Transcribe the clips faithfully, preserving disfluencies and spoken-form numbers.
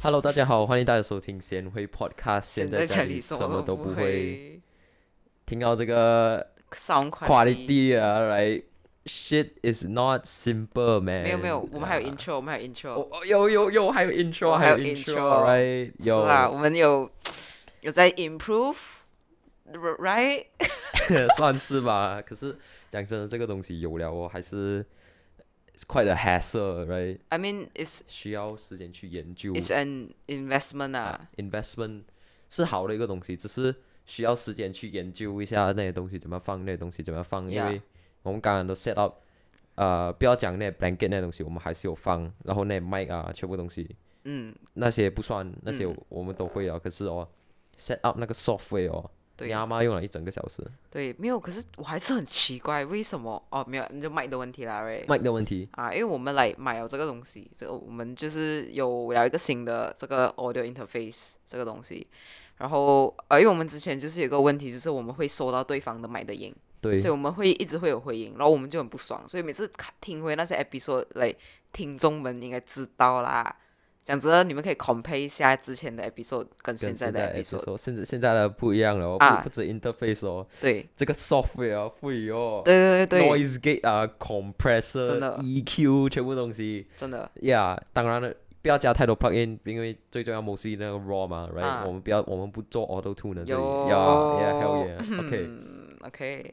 Hello，大家好，欢迎大家收听贤辉 Podcast。现在这里现在这里什么都不什么都不会。 会听到这个 ，sound quality quality 啊，right？Shit is not simple, 没有没有， man。 我们还有 intro，我们还有 intro， 哦哦，有有有，还有 intro，还有我还有 intro， intro，right？ 是啊， 有， 我们有有在 improve，right？ 算是吧。可是讲真的，这个东西有了哦，还是 it's quite a hassle，right？ I mean it's 需要时间去研究 it's an investment 啊啊 ，investment 是好的一个东西，只是需要时间去研究一下那些东西怎么放，那些东西怎么放，因 ，yeah， 为我们刚刚都 set up，呃，不要讲那些 blanket 那些东西，我们还是有放，然后那些 mic 啊，全部东西嗯那些不算，那些嗯， 我们都会啊，可是哦，set up 那个 software 哦，你对阿妈用了一整个小时对，没有，可是我还是很奇怪，为什么？哦，没有，那就麦的问题啦，right？ ，mic 的问题， 啊，因为我们来买了这个东西，这个我们就是有了一个新的这个 audio interface 这个东西，然后呃，因为我们之前就是有一个问题，就是我们会收到对方的麦的音， 对所以我们会一直会有回音，然后我们就很不爽，所以每次看听回那些 episode，来听众们应该知道啦。讲真的，你们可以 compare 一下之前的 episode 跟现在的跟现在 episode episode，甚至现在的不一样了哦，不啊， 不止 interface 哦， 对这个 software 啊，会哦。 对对对对， noise gate 啊真 ，compressor、 的 E Q 全部东西真的 ，Yeah，当然了，不要加太多 plugin，因为最重要 mostly 那个 raw 嘛，right？ 啊， 我们不要，我们不做 auto tune 的这里有 ，Yeah，Yeah，hell yeah，OK，Yeah，but、 嗯，OK，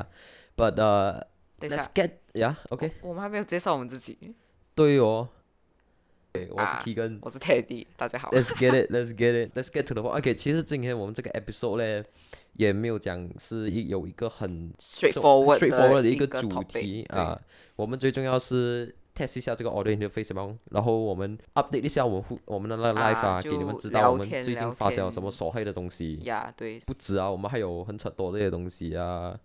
uh, 等一 let's 下。 get，Yeah，OK，、 我们还没有介绍我们自己对哦，对，我是啊， Keegan。 我是 Teddy，大家好。 Let's get it, let's get it, let's get to the point. OK，其实今天我们这个 episode 呢，也没有讲是一有一个很重 straightforward straightforward 的一个一个主 topic， 题对啊。我们最重要是 test 一下这个 audio interface 嘛，然后我们 update 一下我们互我们的那个 live 啊， 啊， 给你们就知道我聊天们最近聊发生了什么天手害的东西。 呀，对， 不止啊，我们还有很多这些东西啊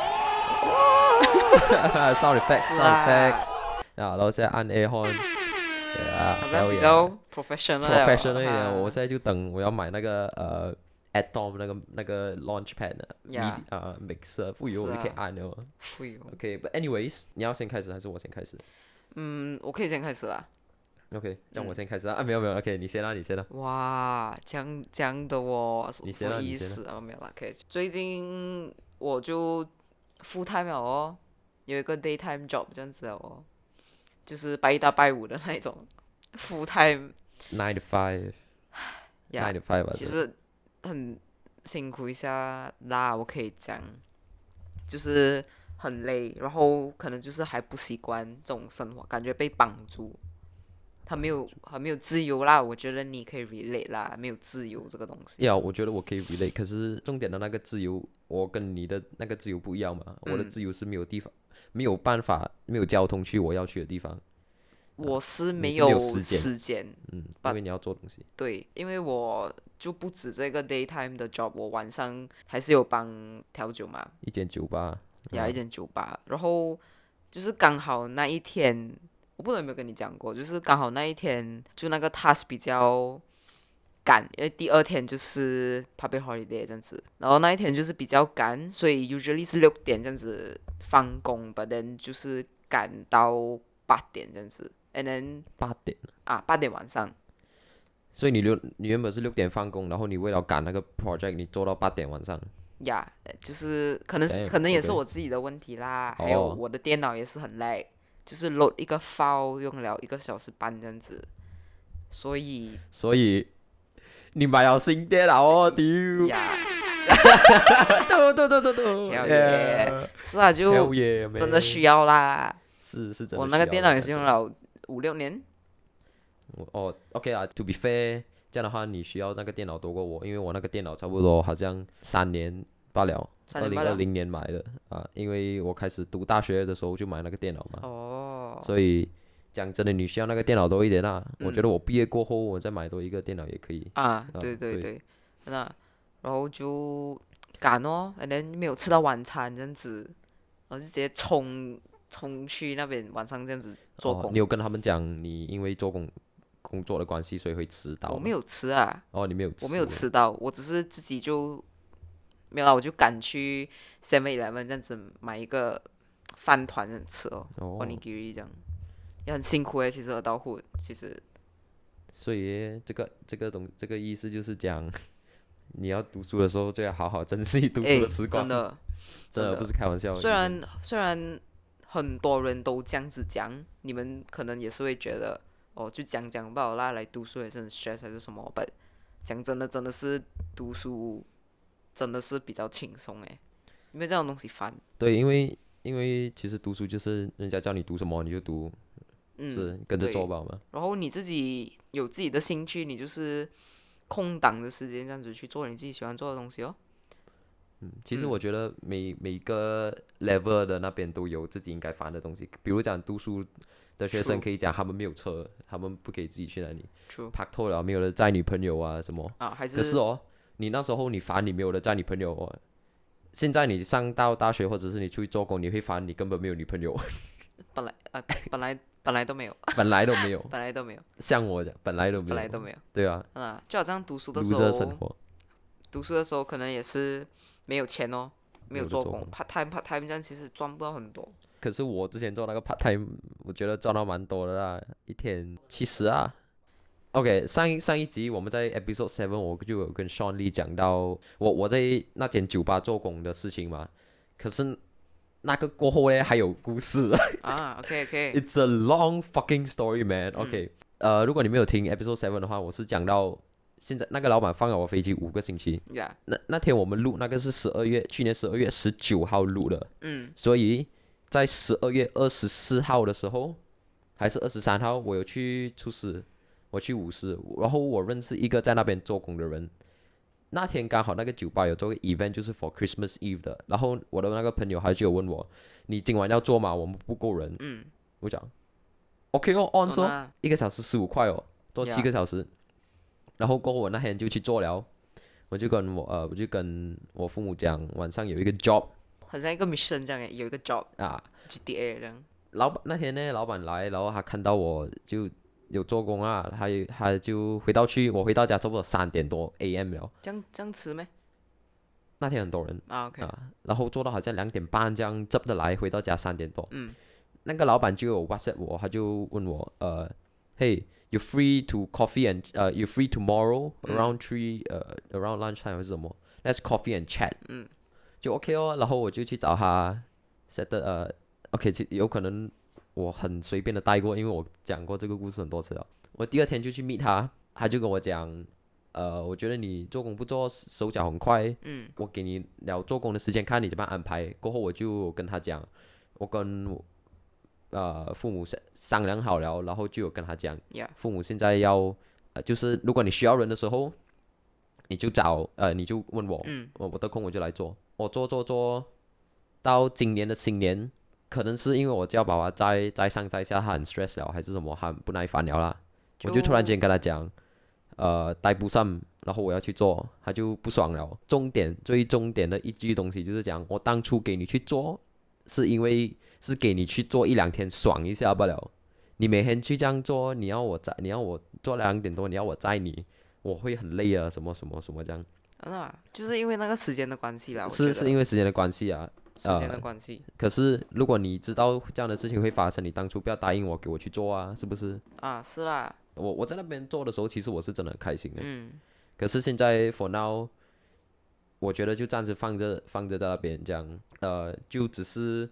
，sound effects, 是 sound 啊， effects 啊，然后再按 air horn，啊好像 ，hell 比 yeah。 较 professional 了 professional 一点，我哈现在就等我要买那个呃 Atom 那个那个 Launchpad 的呀 midi 啊 mixer，不以是我就可以啊， 按了。 会哦 OK，but anyways，你要先开始还是我先开始嗯，我可以先开始啦。 ？OK，这样我嗯， 先开始啊，啊没有没有，OK，你先啦，你先啦， 哇，这样这样的哦，什你什么意先啦你先啦。 思啊？没有啦，可以。最近我就 full time 了哦，有一个 daytime job 这样子了哦，就是拜一到拜五的那种 full time Nine to five，nine 呀。 to five 吧，这其实很辛苦一下啦，我可以讲，就是很累，然后可能就是还不习惯这种生活，感觉被绑住，很没有很没有自由啦。我觉得你可以 relate 啦，没有自由这个东西。 呀，我觉得我可以 relate，可是重点的那个自由，我跟你的那个自由不一样嘛，我的嗯， 自由是没有地方，没有办法，没有交通去我要去的地方， 我是你是没有没有时间， 时间， 嗯，因 but 为你要做东西。 对，因为我就不止这个 daytime 的 job，我晚上还是有帮调酒嘛， 一间酒吧， 呀，一啊， 间酒吧，然后就是刚好那一天，我不知道有没有跟你讲过，就是刚好那一天就那个 task 比较赶，因为第二天就是 public holiday 这样子，然后那一天就是比较赶，所以 usually 是六点这样子放工，but then 就是赶到八点这样子，and then 八点。 啊八点晚上， 所以你六，你原本是六点放工，然后你为了赶那个 project，你做到八点晚上。 呀呃就是可能是可能也是 Damn，OK， 我自己的问题啦，还有哦， 我的电脑也是很 lag，就是 load 一个 file 用了一个小时半这样子，所以所以你买了新电脑哦，丢， 呀， 对对对对对 ，hell yeah， 是啊， ，hell 就 yeah， 真的 man， 需要啦。 是是真我的需要的， 那个电脑也是讲真的。 用了五六年， 我哦，OK 啊，to be fair，这样的话你需要那个电脑多过我，因为我那个电脑差不多好像三年罢了，二三年半了。 零二零年买的啊，因为我开始读大学的时候就买那个电脑嘛， 哦， 所以讲真的，你需要那个电脑多一点啊。我觉嗯得我毕业过后，我再买多一个电脑也可以啊， 啊。对， 对对对，那然后就赶哦，and then 没有吃到晚餐这样子，然后就直接冲冲去那边晚上这样子做哦， 工。 你有跟他们讲你因为做工工作的关系，所以会迟到吗？ 我没有吃啊， 哦，你没有我没有吃， 吃到，我只是自己就没有啦，我就赶去 Seven Eleven 这样子买一个饭团这样吃哦哦， ，onigiri 这样，也很辛苦诶，其实二道户其实所以这个这个东这个意思就是讲，你要读书的时候最好好好珍惜读书的哎， 时光， 真的真的不真的， 是开玩笑。就是虽然虽然很多人都这样子讲，你们可能也是会觉得，哦，就讲讲罢了啦，来读书也是很 stress 还是什么，but 讲真的，真的是读书真的是比较轻松诶，因为这种东西烦。 对，因为因为其实读书就是人家叫你读什么你就读，是嗯， 跟着做对。 吧嘛。 然后你自己有自己的兴趣，你就是空档的时间这样子去做你自己喜欢做的东西哦。 其实嗯我觉得每每个 level 的那边都有自己应该烦的东西，比如讲读书的学生 ，true 可以讲他们没有车，他们不可以自己去哪里， true 拍拖了没有人载女朋友啊什么。 啊，还是可是哦，你那时候你烦你没有人载女朋友哦，现在你上到大学或者是你出去做工，你会烦你根本没有女朋友， 本来啊本来本来都没有， 本来都没有， 本来都没有， 像我讲本来都没有， 本来都没有。 对啊啊，就好像读书的时 ，loser 生候， 活， 读书的时候可能也是没有钱哦，没有做工没有的做工。 ，part time part time 这样其实赚不到很多。 可是我之前做那个 part time，我觉得赚到蛮多的啦，一天七十啊。OK，上一上一集我们在 episode seven 我就有跟 Sean Lee 讲到我我在那间酒吧做工的事情嘛。可是那个过后呢还有故事啊，OK OK， ，It's a long fucking story man。OK，呃，如果你没有听 episode seven 的话，我是讲到现在那个老板放了我飞机五个星期。 呀， 那那天我们录那个是十二月，去年十二月十九号录的， 嗯所以在十二月二十四号的时候，还是二十三号，我有去出师，我去舞狮，然后我认识一个在那边做工的人。那天刚好那个酒吧有做个 event，就是 for Christmas Eve 的，然后我的那个朋友他就有问我，你今晚要做吗？我们不够人。 嗯， 我讲 OK 哦，on 说哦那一个小时十五块哦，做七 Yeah 个小时。然后过后我那天就去做了，我就跟我呃我就跟我父母讲，晚上有一个 job 很像一个 mission 这样诶，有一个 job 啊。 G T A 这样。 老板那天呢，老板来，然后他看到我就有做工啊，他也他就回到去，我回到家差不多三点多 A M 了。 这样这样迟咩？ 那天很多人啊，OK， 啊，然后做到好像两点半这样，执的来，回到家三点多。 嗯那个老板就有 WhatsApp 我，他就问我，呃，Hey，you free to coffee and 呃、uh,，you free tomorrow 嗯 around three 呃、uh, around lunchtime 还是什么？Let's coffee and chat。 嗯就 OK 哦，然后我就去找他 set 的呃，OK，其有可能我很随便的带过，因为我讲过这个故事很多次了。我第二天就去 meet 他，他就跟我讲，呃，我觉得你做工不做，手脚很快， 嗯我给你聊做工的时间，看你怎么样安排。过后我就跟他讲，我跟呃父母商商量好了，然后就有跟他讲， ，Yeah， 父母现在要呃，就是如果你需要人的时候，你就找呃，你就问我， 嗯我我得空我就来做，我做做做到今年的新年，可能是因为我叫爸爸再再上再下，他很 stress 了，还是什么，他很不耐烦了啦，我就突然间跟他讲，呃，带不上，然后我要去做，他就不爽了。重点最重点的一句东西就是讲，我当初给你去做，是因为是给你去做一两天爽一下罢了。你每天去这样做，你要我载，你要我做两点多，你要我载你，我会很累啊，什么什么什么这样。 啊，就是因为那个时间的关系啦，我是是因为为时间的关系啊。 时间的呃关系可是如果你知道这样的事情会发生，你当初不要答应我给我去做啊，是不是？ 啊，是啦， 我我在那边做的时候，其实我是真的很开心的。 嗯可是现在 for now，我觉得就暂时放着放着在那边，这样呃，就只是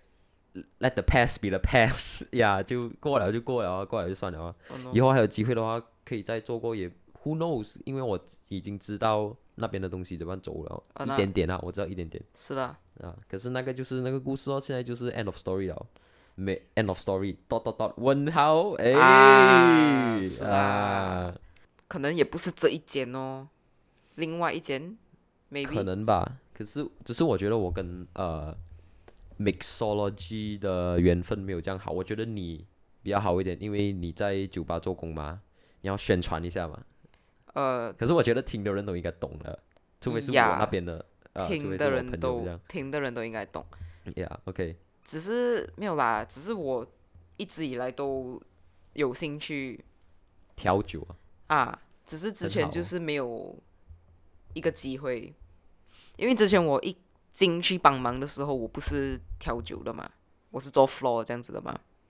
let the past be the past 呀，就过了就过了啊，过了就算了啊。 哦 no， 以后还有机会的话，可以再做过也 who knows，因为我已经知道那边的东西怎么样走了，一啊那点点啊，我知道一点点是啦， 啊。可是那个就是那个故事哦，现在就是 end of story 了。没 end of story dot dot dot 问号哎啊是啦啊， 可能也不是这一间哦，另外一间可 ，maybe， 能吧。可是只是我觉得我跟呃 mixology 的缘分没有这样好，我觉得你比较好一点，因为你在酒吧做工嘛，你要宣传一下嘛。 呃， 可是我觉得听的人都应该懂的，除非是我呀那边的，呃，除听的非是我人都朋友这样。 听的人都应该懂， Yeah，OK， 只是没有啦，只是我一直以来都有兴趣调酒啊， 啊，只是之很好前就是没有一个机会，因为之前我一进去帮忙的时候，我不是调酒的嘛，我是做 floor 这样子的嘛，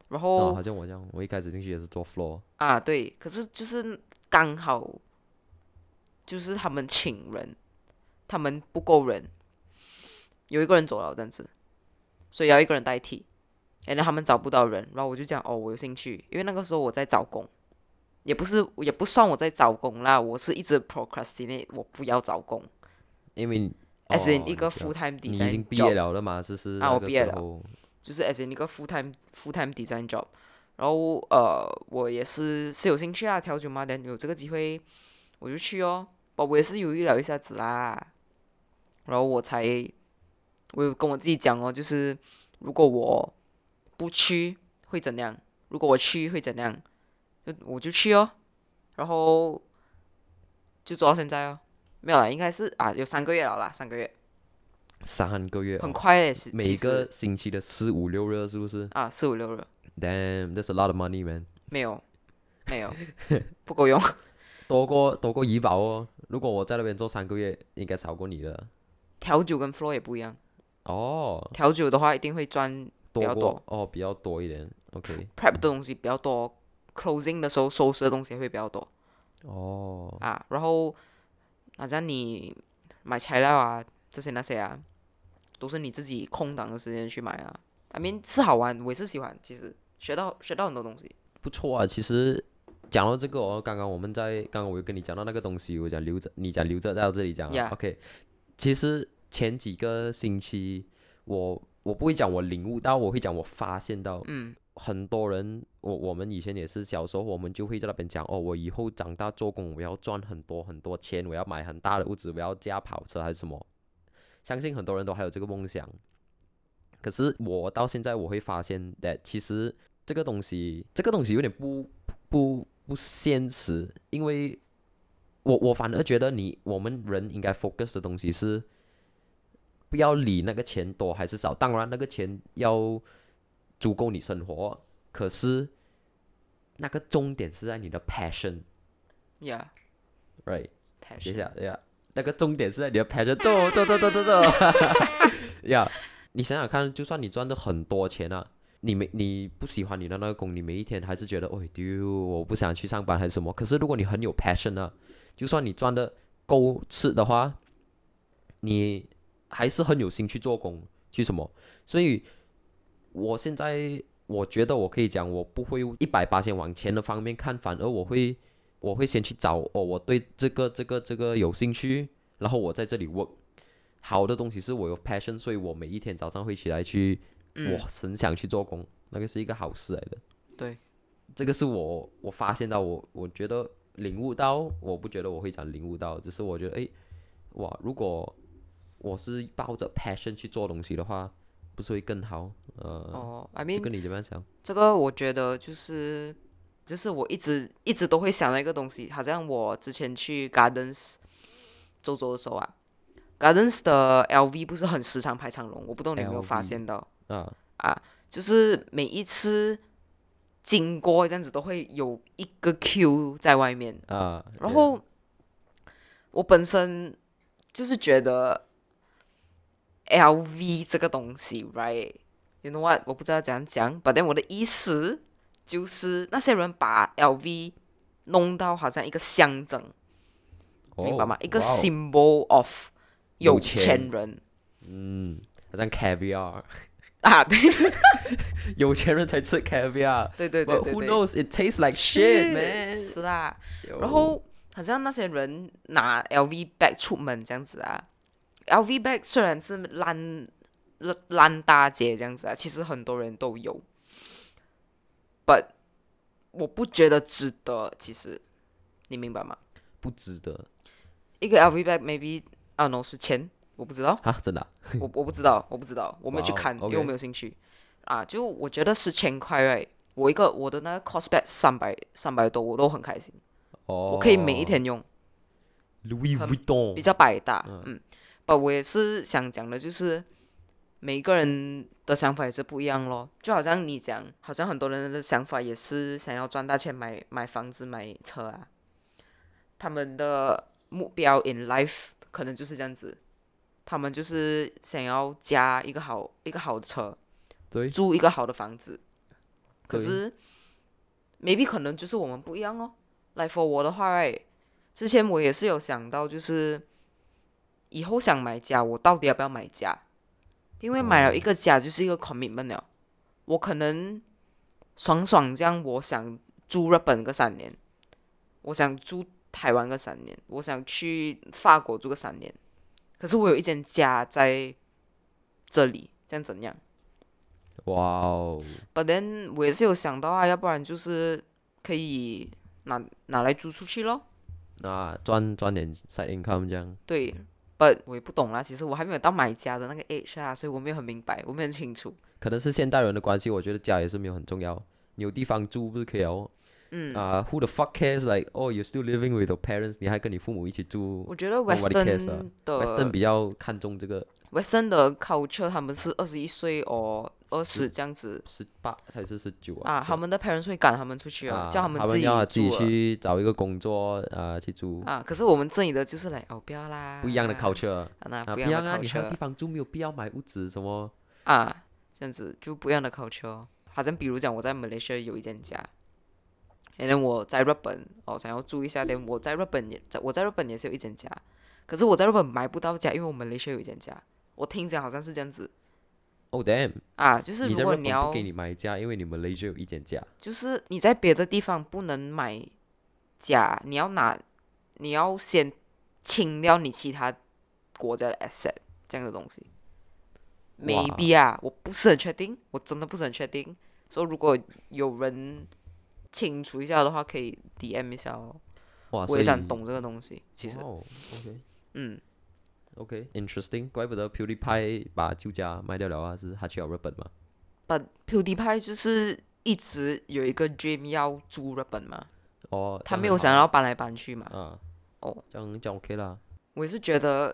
然哦， 后好像我这样，我一开始进去也是做 floor。 啊对，可是就是刚好就是他们请人，他们不够人，有一个人走了这样子，所以要一个人代替。然后他们找不到人，然后我就讲哦，我有兴趣，因为那个时候我在找工，也不是也不算我在找工啦，我是一直 procrastinate，我不要找工因为 ，as in 哦， 一个你知道 full time 你已经 design 毕业 job 了的嘛，只是啊， 那个我毕业了， 时候就是 as in 一个 full time full time design job，然后呃，我也是是有兴趣啊，调酒嘛，等有这个机会我就去哦，不，我也是犹豫了一下子啦，然后我才我有跟我自己讲哦，就是如果我不去会怎样，如果我去会怎样，就我就去哦，然后就做到现在哦，没有啦，应该是啊有三个月了啦，三个月， 三个月很哦， 快诶，是其每个实星期的四五六日是不是啊四五六日 ？Damn, that's a lot of money, man。 没有没有不够用。 多过多过怡宝哦。如果我在那边做三个月，应该少过你的。 调酒跟 floor 也不一样， 哦， 调酒的话一定会赚比多较多过哦，比较多一点。OK。 ，prep 的东西比较多，closing 的时候收拾的东西也会比较多哦， 啊。然后好像你买材料啊这些那些啊，都是你自己空档的时间去买啊。I mean 是好玩，我也是喜欢，其实学到学到很多东西。 不错啊。其实讲到这个哦，刚刚我们在刚刚我有跟你讲到那个东西，我讲留着，你讲留着到这里讲啊。 Yeah. OK。其实前几个星期，我我不会讲我领悟到，我会讲我发现到。 嗯很多人，我我们以前也是小时候，我们就会在那边讲哦，我以后长大做工，我要赚很多很多钱，我要买很大的屋子，我要驾跑车还是什么。相信很多人都还有这个梦想。可是我到现在我会发现，that 其实这个东西，这个东西有点不不不现实，因为我我反而觉得你我们人应该 focus 的东西是不要理那个钱多还是少，当然那个钱要足够你生活，可是那个重点是在你的 passion，right？ ，Yeah，passion。 等一下，等一下，那个重点是在你的 passion，对对对对对对，呀，你想想看，就算你赚的很多钱啊，你没你不喜欢你的那个工，你每一天还是觉得，哦丢，我不想去上班还是什么。可是如果你很有 passion 啊，就算你赚的够吃的话，你还是很有心去做工，去什么。所以我现在我觉得我可以讲，我不会一百八先往前的方面看，反而我会我会先去找哦，我对这个这个这个有兴趣，然后我在这里 work。好的东西是我有 passion，所以我每一天早上会起来去， 嗯我很想去做工，那个是一个好事来的。 对， 这个是我我发现到我我觉得领悟到，我不觉得我会讲领悟到，只是我觉得诶，哇，如果我是抱着 passion 去做东西的话，不是会更好？呃， 哦，I 这 mean 个你怎么样想？ 这个我觉得就是就是我一直一直都会想的一个东西，好像我之前去 Gardens 走走的时候啊，Gardens 的 L V 不是很时常排长龙，我不知道你有没有发现到啊， 啊，就是每一次经过这样子都会有一个 queue 在外面， 啊， 然后我本身就是觉得 L V 这个东西，right？You know what？我不知道怎样讲，but then 我的意思就是那些人把 L V 弄到好像一个象征， 哦明白吗？一个哇哦 symbol of 有有钱钱人嗯，好像 caviar， 啊，对有钱人才吃 caviar。 对对对 But 对 who 对， knows? It tastes like shit, man. 是啦。 有然后好像那些人拿 L V bag 出门这样子啊，L V bag 虽然是烂烂烂大街这样子啊，其实很多人都有，but 我不觉得值得，其实你明白吗？ 不值得一个 L V bag maybe I don't know 是钱，我不知道， 啊，真的啊我我不知道，我不知道，我没有去哇哦看，因为 OK 我没有兴趣啊。就我觉得十千块，right？我一个我的那个 cost bag 三百三百多，我都很开心， 哦， 我可以每一天用。 Louis 很 Vuitton 比较百搭，嗯，不，我也是想讲的，就是每个人的想法也是不一样咯。就好像你讲，好像很多人的想法也是想要赚大钱买买房子买车啊，他们的目标 in life 可能就是这样子，他们就是想要加一个好一个好的车， 对， 住一个好的房子， 可是 maybe 可能就是我们不一样哦。like for 我的话 right， 之前我也是有想到，就是以后想买家，我到底要不要买家？因为买了一个家就是一个 commitment 了。我可能爽爽这样，我想住日本个三年，我想住台湾个三年，我想去法国住个三年。可是我有一间家在这里，这样怎样？ 哇哦 But then 我也是有想到啊，要不然就是可以拿拿来租出去咯。 那赚赚点 side income 这样。 对，But 我也不懂啦，其实我还没有到买家的那个 age 啊，所以我没有很明白，我没有很清楚。 可能是现代人的关系，我觉得家也是没有很重要，你有地方住不是可以哦。 嗯， 啊、w h o the fuck cares like oh you're still living with your parents， 你还跟你父母一起住我觉得 ，nobody cares 啊 Western 的 Western 比较看重这个 Western 的 culture，他们是二十一岁或二十这样子十八还是十九啊？ 啊，他们的 parents 会赶他们出去啊，叫他们自己要自己住啊去找一个工作啊、去住， 啊。可是我们这里的就是来哦，不要啦， 不一样的 culture 啊，那啊， 不一样的不一样啊，你还有 culture 地方住，没有必要买屋子什么。 啊，这样子就不一样的 culture。好像比如讲我在 Malaysia 有一间家，然后我在日本哦想要住一下，但我在日本也在我在日本也是有一间家，可是我在日本买不到家，因为我 Malaysia 有一间家。我听讲好像是这样子 Oh damn！ 啊，就是如你在日本果你要不给你买家，因为你们 Malaysia 有一间家。 就是你在别的地方不能买家，你要拿，你要先清掉你其他国家的 asset 这样的东西。maybe 啊，我不是很确定，我真的不是很确定。所以如果有人清楚一下的话，可以 D M 一下哦。 哇， 我所以也想懂这个东西，其实， 哦，OK 嗯， OK，interesting，、怪不得 PewDiePie 把旧家卖掉了啊，是他去了日本嘛？ But PewDiePie 就是一直有一个 dream 要住日本嘛， 哦， 他没有想要搬来搬去嘛。 啊， 哦， 这样这样 OK 啦。 我也是觉得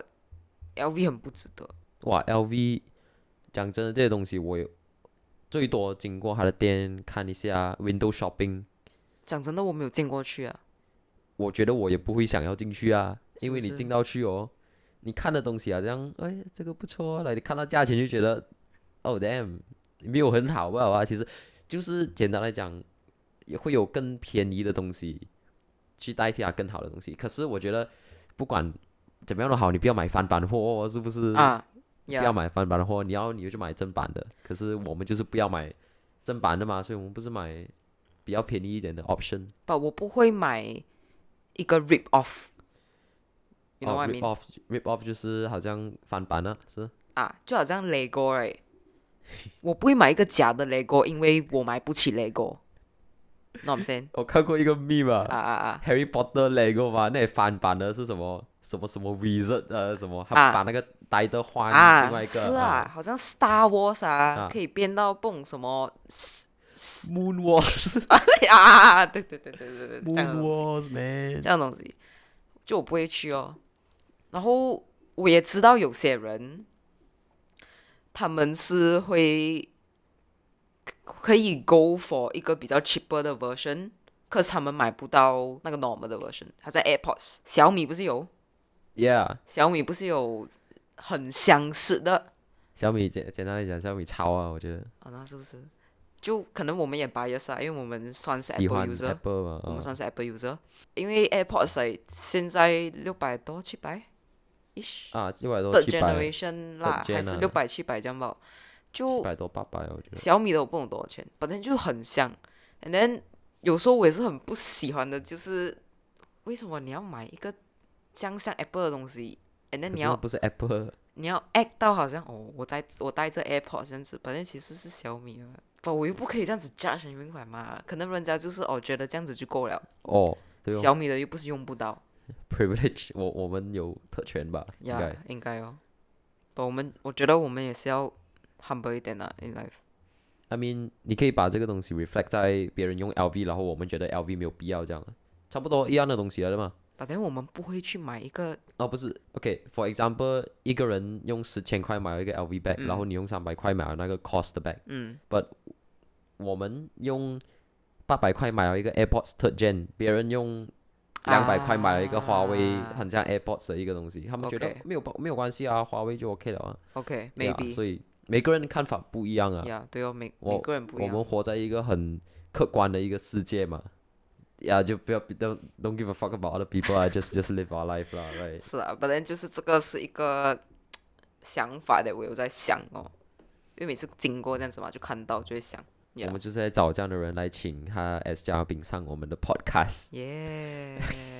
L V 很不值得。 哇，L V， 讲真的，这些东西我有最多经过他的店看一下 window shopping， 讲真的，我没有进过去啊。 我觉得我也不会想要进去啊，因为是不是你进到去哦，你看的东西好像，哎，这个不错啊，来，你看到价钱就觉得，Oh damn，没有很好，不好啊？其实就是简单来讲，也会有更便宜的东西去代替它更好的东西。可是我觉得不管怎么样都好，你不要买翻版货，是不是？ 啊， 不要买翻版的货，你要你就去买正版的。可是我们就是不要买正版的嘛，所以我们不是买比较便宜一点的 option。 不，我不会买一个 rip off。You know 哦 what I ，rip mean？ off rip off 就是好像翻版啊，是。 啊，就好像 Lego 哎，我不会买一个假的 Lego，因为我买不起 Lego。那我们先我看过一个 meme 啊啊啊啊 ，Harry Potter Lego 嘛，那里翻版的是什么什么什么 Wizard 呃什么，他啊把那个呆的换另啊， 外一个是啊，好像 Star Wars 啊， 啊可以变到蹦什么 Moon Wars 啊，对对对对对对，这样的 Moon 东西， Wars man， 这样的东西，就我不会去哦。然后我也知道有些人，他们是会可以 go for 一个比较 cheaper 的 version，可是他们买不到那个 normal 的 version。他在 AirPods，小米不是有， ，Yeah， 小米不是有很相似的小米简简单来讲，小米超啊，我觉得啊、那是不是？就可能我们也 bias 啊，因为我们算是喜 Apple 欢 user， Apple 嘛，啊我们算是 Apple user，因为 AirPods 来现在六百多七百 ish。 啊，六百多 third 七百 generation 啦， gen 还是啊六百七百这样吧。就七百多八百，我觉得。 小米的我不懂多少钱，反正就很像。And then 有时候我也是很不喜欢的，就是为什么你要买一个这样像 Apple 的东西，and then 你要可是不是 Apple， 你要 act 到好像哦，我在我戴着 AirPods 这样子，反正其实是小米啊。不，我又不可以这样子 judge，你明白吗？可能人家就是哦觉得这样子就够了， 哦，对哦小米的又不是用不到。 ，privilege，我我们有特权吧，应呀该。 应该哦。不，我们我觉得我们也是要 humble 一点啊 in life。 I mean，你可以把这个东西 reflect 在别人用 L V， 然后我们觉得 L V 没有必要这样，差不多一样的东西来的嘛。 反正我们不会去买一个哦，不是，OK，for example，一个人用十千块买了一个 L V bag，、 嗯然后你用三百块买了那个 cost 的 bag， 嗯我们用八百块买了一个 AirPods Third Gen，别人用两百块买了一个华为啊很像 AirPods 的一个东西，他们觉得 OK 没有没有关系啊，华为就 OK 了啊。 OK 对啊 maybe 所以每个人的看法不一样啊。 呀，对哦，每每我个人不一样。 我们活在一个很客观的一个世界嘛，呀，就不要 don't don't give a fuck about other people 啊，just just live our life 啦，right？ 是啊，本来就是这个是一个想法的，我有在想哦，因为每次经过这样子嘛，就看到就会想，呀我们就是在找这样的人来请他 as 嘉宾上我们的 podcast， 耶，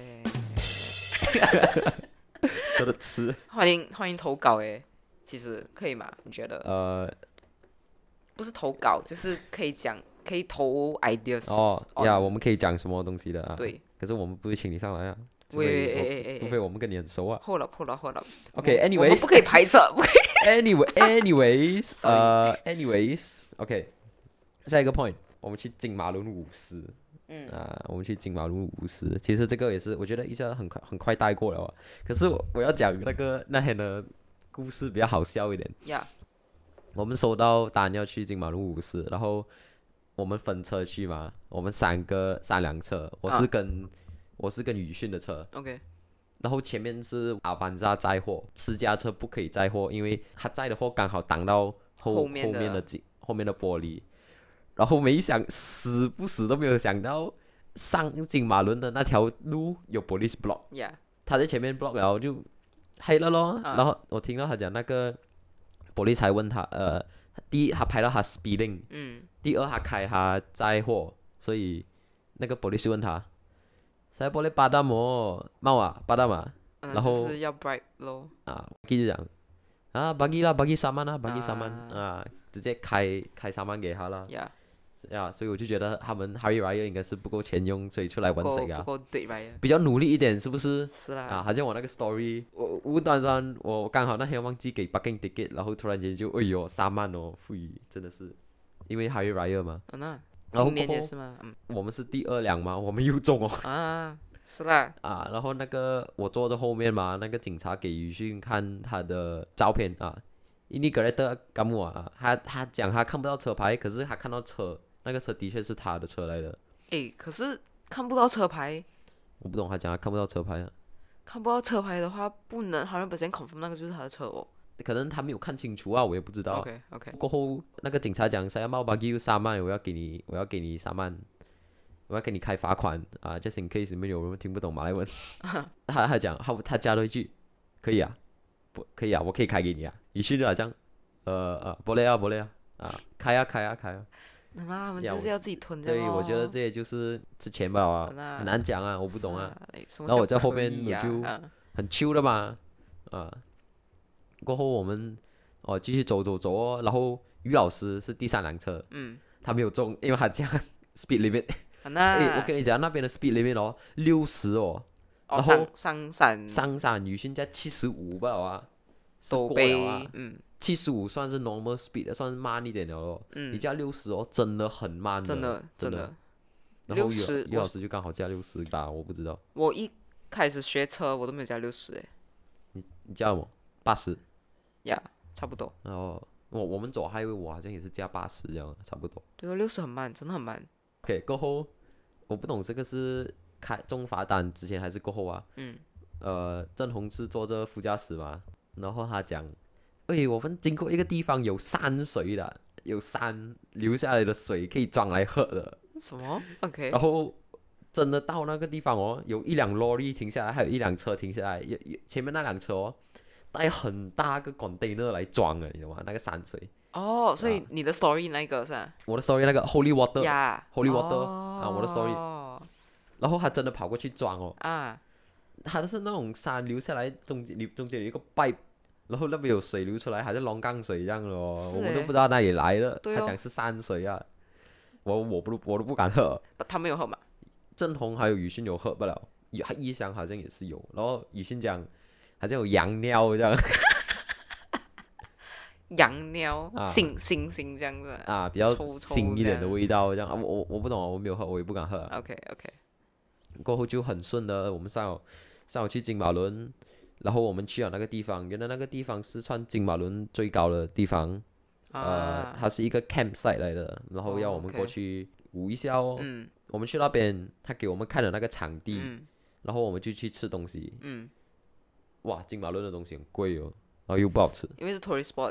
多的吃。 欢迎欢迎投稿诶，其实可以吗？你觉得？ 呃， 不是投稿，就是可以讲，可以投 ideas 哦 on。 呀，我们可以讲什么东西的啊？ 对， 可是我们不会请你上来啊，除喂非我哎哎哎除非我们跟你很熟啊。 后了后了后了。我们我们 OK，anyways， 不可以排斥，不可以。 Anyway, anyways，呃，anyways，OK，、下一个 point，我们去金马伦舞狮。嗯啊，我们去金马伦舞狮。其实这个也是，我觉得一下很快很快带过了啊。可是我我要讲那个那天的故事比较好笑一点。 呀， 我们收到单要去金马伦舞狮，然后我们分车去嘛，我们三个三辆车，我是跟、我是跟宇迅的车。 OK， 然后前面是阿班扎载货，私家车不可以载货，因为他载的货刚好挡到后后面的后面的景后面的玻璃。然后没想死不死都没有想到，上金马伦的那条路有 police block， 呀， 他在前面 block 然后就黑了咯。 啊然后我听到他讲那个 police 还问他，呃，第一他拍到他 speeding， 嗯， 第二他开他载货，所以那个 police 问他，saya boleh padam oh mau ah padam ah， 嗯然后就是要 bribe 咯。 啊，就讲啊，bagi lah bagi saman 啊，bagi saman 啊啊，直接开开 saman 给他了。 呀， 呀，所以我就觉得他们 Hari Raya 应该是不够钱用，所以出来不够玩谁啊？ 不够对吧？ 比较努力一点，是不是？ 是啦。 啊，好像我那个 story，我无端端我刚好那天忘记给 parking ticket，然后突然间就哎呦三万哦，富裕真的是，因为 Hari Raya 嘛， 嗯呐， 然后今年过后也是吗？嗯我们是第二辆嘛，我们又中哦。 啊，是啦。 啊，然后那个我坐在后面嘛，那个警察给于迅看他的照片啊，印尼格雷特干木啊，他他讲他看不到车牌，可是他看到车，那个车的确是他的车来的。 诶，可是看不到车牌， 我不懂他讲他看不到车牌啊， 看不到车牌的话，不能好像本身 confirm 那个就是他的车哦。 可能他没有看清楚啊，我也不知道啊。 OK OK， 过后那个警察讲saya mau bagi you 三万，我要给你，我要给你三万，我要给你开罚款啊，just in case 里面有人听不懂马来文。他他讲他他加了一句，可以啊，不可以啊，我可以开给你啊。于是就好像，呃呃，不累啊不累啊，啊开啊开啊开啊。 那他们呀就是要自己吞这样对，我觉得这些就是之前吧啊， 那很难讲啊，我不不懂啊，， 然然后我在后面我啊就啊很 chill 的嘛，啊，过后我们哦继续走走走哦，然后于老师是第三辆车， 嗯， 他没有中，因为他讲 speed limit， 啊那哎，我跟你讲那边的 speed limit 哦六十哦， 哦然后上上山上山宇迅在七十五吧啊，是过都被了啊， 嗯七十五算是 normal speed 的，算是慢一点的哦，你嗯， 加六十哦真的很慢真的真的。 然后于 60 于老师就刚好加六十吧，我不知道。 我一开始学车我都没有加六十诶， 你加我八十， 呀，差不多。 然后我我们走 highway 我好像也是加八十这样，差不多。 对哦，六十很慢，真的很慢。 OK，过后我不懂这个是开中罚单之前还是过后啊？ 嗯， 呃，郑红是坐着副驾驶嘛，然后他讲，喂，我们经过一个地方有山水的，有山流下来的水可以装来喝的， 什么？OK， 然后。真的到那个地方哦，有一辆 lorry 停下来，还有一辆车停下来，有有前面那辆车哦，带很大个 container 来装的，你知道吗？那个山水。 哦，所以啊你的 story 那个是吧？ 我的 story 那个 holy water，holy 呀 water 哦啊，我的 story，然后他真的跑过去装哦， 啊， 他的是那种山流下来，中间中间有一个 pipe，然后那边有水流出来，还是龙岗水一样的哦， 是我们都欸不知道哪里来的， 对哦他讲是山水啊，我我不我都不敢喝。 他没有喝嘛？ 郑红还有宇迅有喝不了，他一箱好像也是有，然后宇迅讲好像有羊尿这样羊尿啊， 腥腥腥这样子。 啊，比较臭臭腥一点的这样味道这样啊，我我我不懂啊，我没有喝，我也不敢喝啊。 OK OK， 过后就很顺的，我们上午上午去金马伦，然后我们去了那个地方，原来那个地方是算金马伦最高的地方，呃， 啊， 它是一个 campsite 来的，然后要哦我们 OK 过去舞一下哦。 嗯我们去那边，他给我们看了那个场地， 嗯然后我们就去吃东西。 嗯， 哇，金马伦的东西很贵哦，然后又不好吃。 因为是 tourist spot，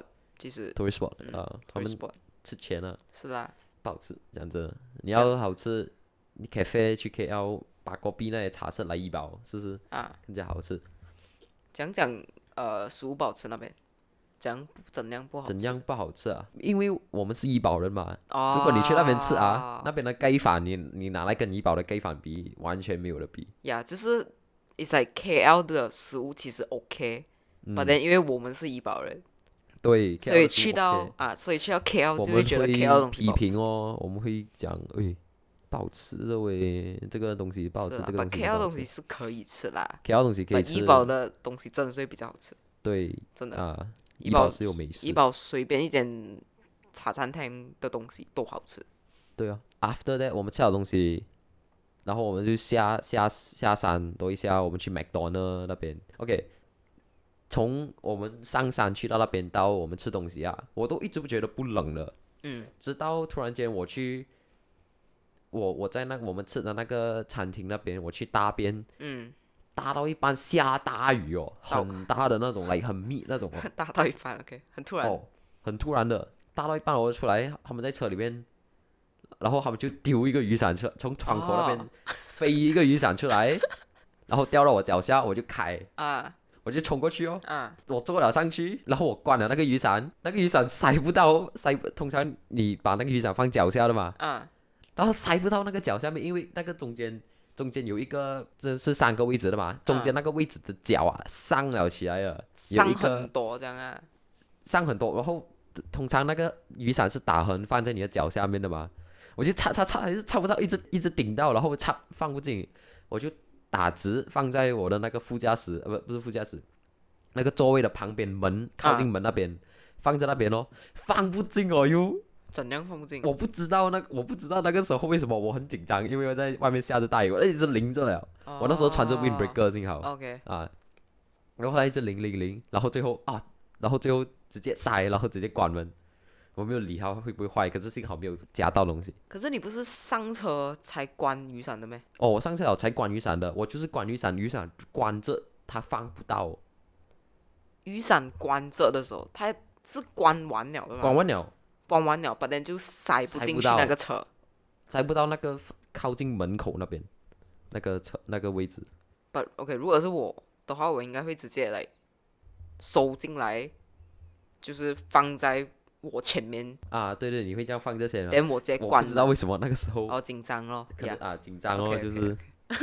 其实 tourist spot 嗯啊，他 tourist 们 spot 吃钱啊， 是啦， 不好吃，讲真的，你要好吃，你 cafe 去 K L 把隔壁那些茶室来一包，是不是啊， 更加好吃？ 讲讲呃食物不好吃那边，讲怎样不好吃？ 怎样不好吃啊？因为我们是怡保人嘛， 哦， 如果你去那边吃啊，那边的盖饭你你拿来跟怡保的盖饭比，完全没有的比。 呀，就是 it's like K L 的食物其实 OK， 嗯， but then 因为我们是怡保人， 对， 所以 K L 的食物去到 OK 啊，所以去到 K L 我们就会觉得会 K L 的东西批不好吃评哦，我们会讲，诶，不好吃的喂，这个东西不好吃， 是啦，but 这个东西 K 不 L 好吃。 东西是可以吃啦 K L 东西可以 ，but 吃怡，保的东西真的是会比较好吃， 对真的。 啊， 怡保怡保是有美怡食， 保随便一间茶餐厅的东西都好吃。 对啊。After that，我们吃好东西，然后我们就下下下山多一下，我们去 McDonald 那边。OK，从我们上山去到那边到我们吃东西啊，我都一直不觉得不冷了， 嗯直到突然间我去，我我在那我们吃的那个餐厅那边，我去大便， 嗯， 大到一半下大雨哦， 到很大的那种，来很密那种哦， 大到一半，OK，很突然。 哦，很突然的，大到一半我就出来，他们在车里面，然后他们就丢一个雨伞出，从窗口那边哦飞一个雨伞出来，然后掉到我脚下，我就开， 啊我就冲过去哦， 啊我坐了上去，然后我关了那个雨伞，那个雨伞塞不到，塞不，通常你把那个雨伞放脚下的嘛， 啊然后塞不到那个脚下面，因为那个中间中间有一个，这是三个位置的嘛，中间那个位置的脚啊上了起来了，有伤一个很多这样啊。 上很多，然后通常那个雨伞是打横放在你的脚下面的嘛，我就插插插还是插不到，一直一直顶到，然后插放不进，我就打直放在我的那个副驾驶，呃不不是副驾驶，那个座位的旁边门靠近门那边，放在那边哦，放不进哦又。 怎样放不进？ 我不知道那我不知道那个时候为什么我很紧张，因为我在外面下着大雨，我一直淋着了。我那时候穿着 windbreaker 幸好 OK， 啊，然后它一直淋淋淋，然后最后啊，然后最后直接塞，然后直接关门。我没有理它会不会坏，可是幸好没有夹到东西。 可是你不是上车才关雨伞的咩？ 哦，我上次有才关雨伞的，我就是关雨伞，雨伞关着它放不到， 雨伞关着的时候，它是关完了的吗？ 关完了关完了，把人就塞不进去塞不到那个车。 塞不到那个靠近门口那边那个车那个位置。 But OK，如果是我的话，我应该会直接来收进来，就是放在我前面， 啊，对对，你会这样放这些吗？ 等我直接我关了。 不知道为什么那个时候哦，紧张咯，呀可能啊紧张哦， OK，OK，OK 就是。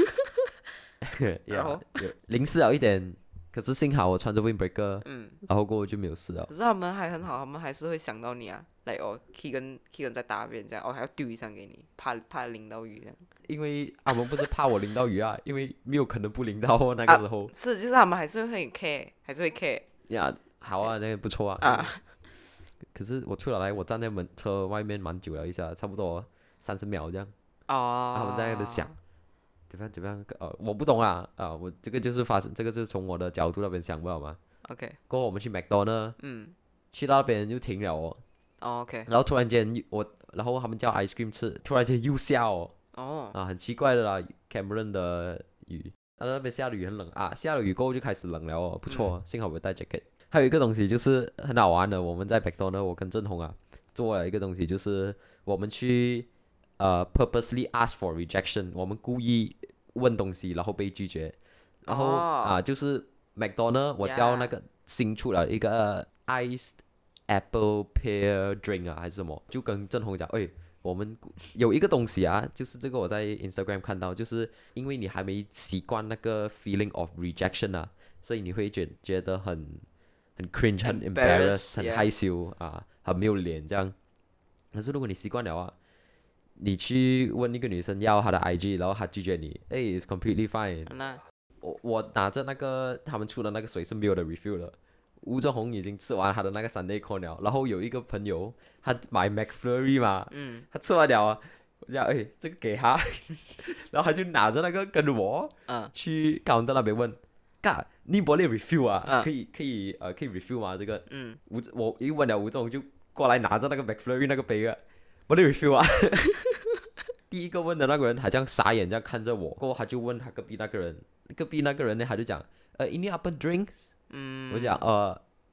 然后有淋湿了一点，可是幸好我穿着 windbreaker， 嗯， 然后过后就没有事了。 可是他们还很好，他们还是会想到你啊，来哦，Keegan Keegan 在大便这样，哦还要丢雨伞给你，怕怕淋到雨这样。 因为他们不是怕我淋到雨啊，因为没有可能不淋到哦，那个时候。 是，就是他们还是会很 care，还是会 care 呀，好啊，那个不错啊。 啊。 可是我出来，我站在门车外面蛮久了一下，差不多三十秒这样。 哦。 他们在那边想怎么样怎么样，呃，我不懂啊啊，我这个就是发生，这个是从我的角度那边想不了嘛。 OK， 过后我们去 McDonald， 嗯， 去到那边就停了哦， 哦 OK， 然后突然间又我，然后他们叫 ice cream 吃，突然间又下哦。 哦， 啊，很奇怪的啦，Cameron 的雨，他那边下了雨很冷啊，下了雨过后就开始冷了哦，不错， 嗯幸好我有带 jacket。还有一个东西就是很好玩的，我们在 McDonald，我跟郑红啊做了一个东西，就是我们去呃 purposely ask for rejection，我们故意问东西然后被拒绝，然后、 哦啊就是 McDonald 我叫那个新出了一个 iced apple pear drink 啊还是什么，就跟郑红讲，哎。我们有一个东西啊，就是这个我在 Instagram 看到，就是因为你还没习惯那个 feeling of rejection 啊，所以你会觉觉得很很 cringe、很 embarrass、很 yeah 害羞啊，很没有脸这样。可是如果你习惯了啊，你去问一个女生要她的 I G， 然后她拒绝你，哎，it's completely fine。 那我我拿着那个他们出的那个水是没有的 refill 的。吴正宏已经吃完他的那个 Sunday corn 了，然后有一个朋友他买 McFlurry 嘛， 嗯他吃完了啊，我讲哎这个给他，然后他就拿着那个跟我嗯去 counter 那边问，嘎你 boleh refill 啊， 嗯可以可以呃可以 refill 吗？这个嗯， 吴我一问了吴正宏就过来拿着那个 McFlurry 那个杯啊 boleh refill 啊。第一个问的那个人还这样傻眼这样看着我，过后他就问他隔壁那个人，隔壁那个人呢他就讲呃 ini apa drinks？ 嗯， 我讲呃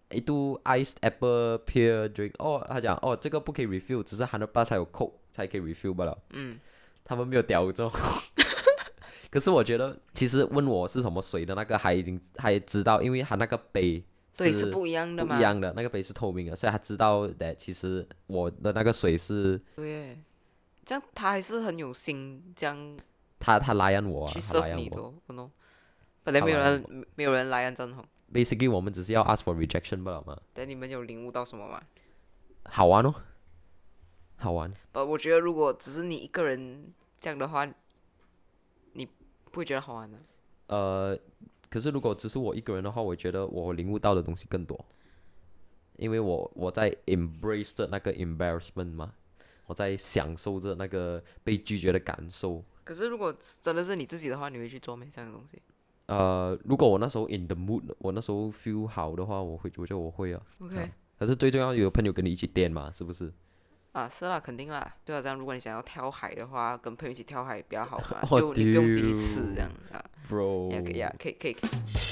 一度 iced apple pear drink，哦，他讲哦这个不可以 refill，只是 hundred plus 才有 coke 才可以 refill 罢了。 嗯， 他们没有屌这种。可是我觉得，其实问我是什么水的那个，还已经他也知道，因为他那个杯对，是不一样的嘛。 不一样的，那个杯是透明的，所以他知道的。其实我的那个水是， 对，这样他还是很有心，这样他他来按我啊， 去他来 serve 按我。 你的哦，不喏。本来没有他来人，没有人来按正红， Basically，我们只是要 ask for rejection 罢了嘛。 但你们有领悟到什么吗？ 好玩哦，好玩。 不，我觉得如果只是你一个人这样的话，你不会觉得好玩的。 呃，可是如果只是我一个人的话，我觉得我领悟到的东西更多，因为我我在 embrace 着那个 embarrassment 嘛，我在享受着那个被拒绝的感受。 可是如果真的是你自己的话，你会去做没这样的东西呃，如果我那时候 in the mood，我那时候 feel 好的话，我会，我觉得我会啊。 ？OK， 啊可是最重要有朋友跟你一起颠嘛，是不是？ 啊，是啦，肯定啦。就好像如果你想要跳海的话，跟朋友一起跳海比较好嘛， 哦就你不用自己去吃这样啊。 Bro， 也可以啊，可以可以，可以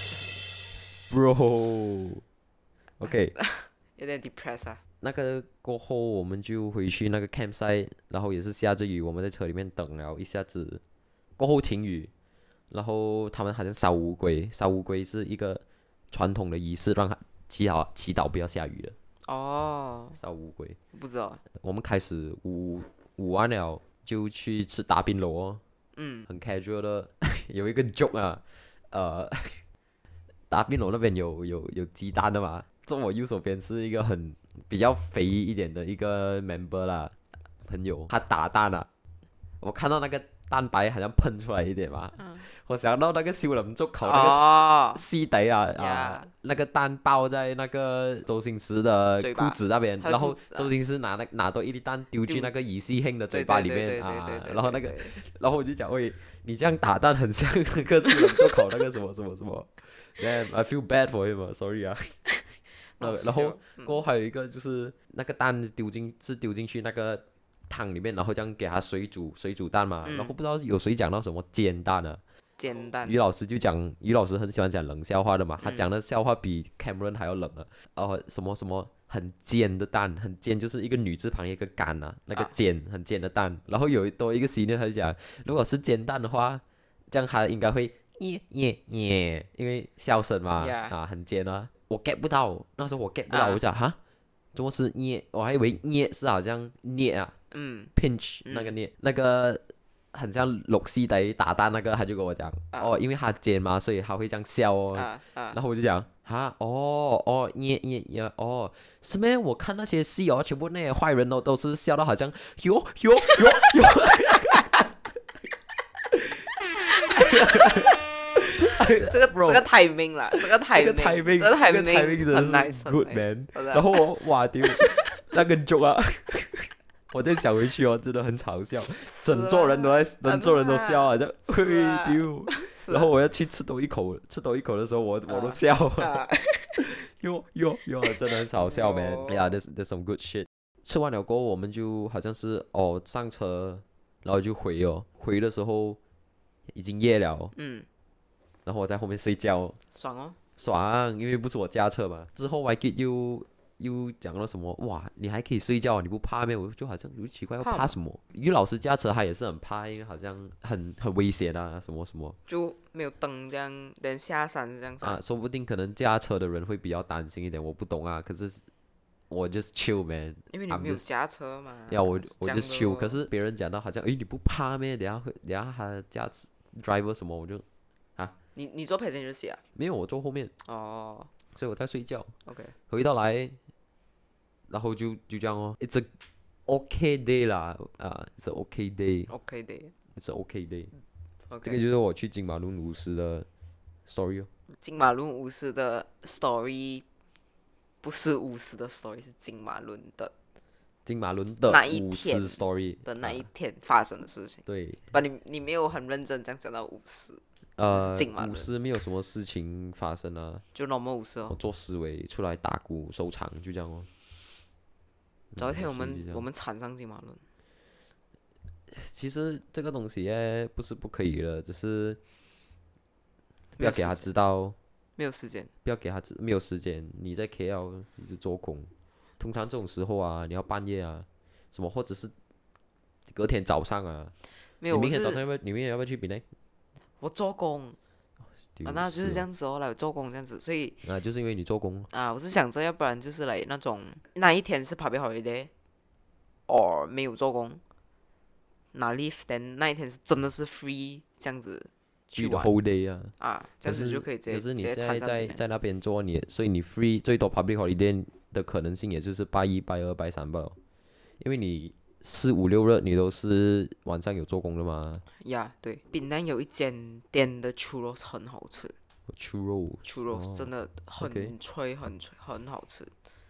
Bro，OK， 有点 depressed 啊。 那个过后我们就回去那个 campsite，然后也是下着雨，我们在车里面等了一下子，过后停雨，然后他们好像烧乌龟，烧乌龟是一个传统的仪式，让他祈祷祈祷不要下雨的， 哦， 烧乌龟。 不知道。 我们开始午午完了就去吃打边炉哦， 嗯， 很 casual 的，有一个 joke 啊，呃，打边炉那边有有有鸡蛋的嘛，坐我右手边是一个很比较肥一点的一个 member 啦，朋友，他打蛋啊，我看到那个蛋白好像喷出来一点嘛， 嗯我想到那个小林足球那个哦， 西底啊啊 Yeah 那个蛋爆在那个周星驰的嘴巴裤子那边， 他的然后裤子啊周星驰拿那拿多一粒蛋丢进丢那个乙烯兄的嘴对巴里对对对对面啊对对， 然后那个对对然后我就讲喂，你这样打蛋很像那个小林足球那个什么什么什么，Damn I feel bad for him 啊，sorry 啊。 好然后笑嗯过后还有一个就是那个蛋丢进是丢进去那个汤里面，然后这样给它水煮水煮蛋嘛， 嗯然后不知道有谁讲到什么煎蛋啊， 煎蛋于老师就讲，于老师很喜欢讲冷笑话的嘛，他嗯讲的笑话比 Cameron 还要冷啊，呃，什么什么很尖的蛋，很尖就是一个女字旁一个干啊，那个啊尖很尖的蛋，然后有多一个 senior 他就讲，如果是煎蛋的话，这样他应该会耶耶耶，因为笑声嘛 Yeah 啊很尖啊，我 get 不到，那时候我 get 不到， 啊我就讲哈，怎么是捏？我还以为捏是好像捏啊嗯 ，pinch 那个捏，那个很像六西底打蛋那个，他就跟我讲， 啊哦，因为他尖嘛，所以他会这样笑哦。 啊啊然后我就讲，哈，哦哦，捏捏捏，哦，是咩？我看那些戏哦，全部那些坏人哦，都是笑到好像哟哟哟哟。 这个 Bro 这个 timing 啦，这个 timing， 这个 timing， 这个这个 timing timing 真的很是 nice，很 good nice， man 真的然后我哇丢，那个 joke 啊，我再想回去哦，真的很嘲笑，整桌人都在，整桌人都笑啊，这嘿啊丢。 是然后我要去吃多一口，吃多一口的时候，我我都笑， 啊， 哟哟哟，真的很嘲笑，man。 哦哎呀，there's there's some good shit。吃完了过后，我们就好像是哦上车，然后就回哦，回的时候已经夜了， 嗯， 然后我在后面睡觉， 爽哦， 爽，因为不是我驾车嘛。之后 Y K 又又讲了什么？哇，你还可以睡觉，你不怕咩？我就好像有奇怪，要怕怕什么？于老师驾车他也是很怕，因为好像很很危险啊，什么什么就没有灯这样，等下山这样子啊，说不定可能驾车的人会比较担心一点，我不懂啊。可是我 just chill man， 因为你 I'm 没有 just- 驾车嘛。 呀，我我这 just 样 chill。 咯可是别人讲到好像，诶，你不怕咩？等下会等下他驾驶 driver 什么，我就你你坐 passenger seat 啊？ 没有，我坐后面， 哦所以我在睡觉。 ，OK， 回到来，然后就就这样哦，It's a okay day 啦，啊，It's a okay day，It's OK 的 a okay day。这个 ，OK。 就是我去金马伦五十的 story 哦。 金马伦巫师的 story 不是巫师的 story，是金马伦的金马伦的那一五天十 story 的那一啊天发生的事情。 对， 把你你没有很认真这样讲到巫师， 呃金马，伦五十没有什么事情发生啊， 就 normal 巫师哦。 我做思维出来打鼓收场，就这样哦。 早一天我所以就这样们我们缠上金马伦， 其实这个东西耶不是不可以的，只是不要给他知道没有时间。 不要给他自没有时间。你在 K L 一直做工，通常这种时候啊，你要半夜啊，什么或者是隔天早上啊。 没有，我你明天早上是要不要？你明天要不要去槟榔？ 我做工啊，那就是这哦样子哦，来做工这样子，所以啊，就是因为你做工。 啊，我是想着，要不然就是来那种那一天是 public holiday，or 没有做工，拿 leave，then 那一天是真的是 free 这样子去 free the 玩 whole day 啊。 啊，这样子可是就可以直接可是你直接现在参加槟榔。 在在那边做你，所以你 free 最多 public holiday 的可能性也就是拜一、拜二、拜三罢了，因为你四五六日你都是晚上有做工的嘛。 呀，对，槟榔有一间店的 churros 很好吃 ，churro ，churros 真的很 OK 脆很脆很好吃。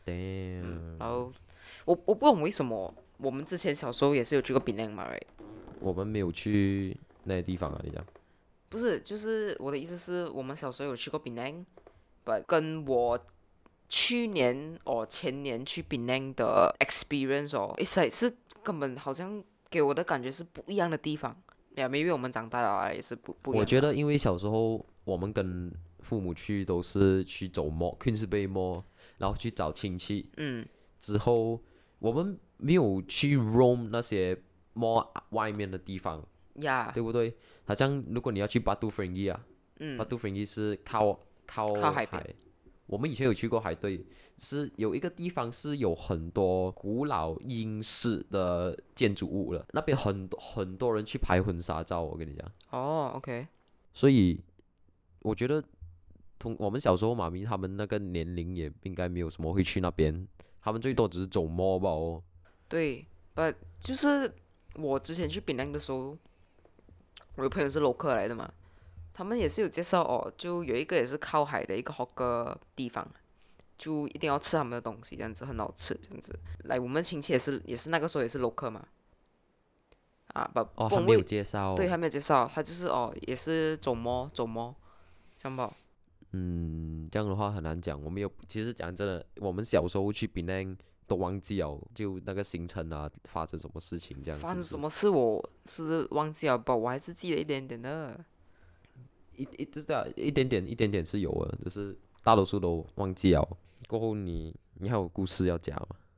damn， 然后我我不懂为什么我们之前小时候也是有去过槟榔嘛，right？ 我们没有去那些地方啊，你讲。 不是，就是我的意思是我们小时候有去过槟榔，but 跟我去年哦前年去槟榔的 experience 哦，it's like 是根本好像给我的感觉是不一样的地方。呀，maybe 我们长大了啊也是不不一样。 我觉得因为小时候我们跟父母去都是去走 mall，Queens Bay Mall，然后去找亲戚。 嗯， 之后我们没有去 roam 那些 mall 外面的地方， 呀， 对不对？好像如果你要去 Batu Ferringhi 啊嗯， ，Batu Ferringhi 是靠靠靠海边。 我们以前有去过海，对，是有一个地方是有很多古老英式的建筑物了，那边很很多人去拍婚纱照，我跟你讲。 哦，OK， 所以我觉得同我们小时候妈咪他们那个年龄也应该没有什么会去那边，他们最多只是走 mall 吧哦。 对，but 就是我之前去槟榔的时候，我有朋友是 local 来的嘛，他们也是有介绍哦，就有一个也是靠海的一个 hawker 地方，就一定要吃他们的东西，这样子很好吃，这样子。来，我们亲戚也是也是那个时候也是 local 嘛，啊，不， 哦， 不他没有为介绍。 对，还没有介绍，他就是哦，也是走摸走摸，这样吧。 嗯，这样的话很难讲。我们有，其实讲真的，我们小时候去槟榔都忘记了，就那个行程啊，发生什么事情这样。 发生是不是？ 什么事我是忘记了吧，我还是记得一点点的。 一一知道一点点一点点是有的，只是大多数都忘记了。过后你你还有故事要讲吗？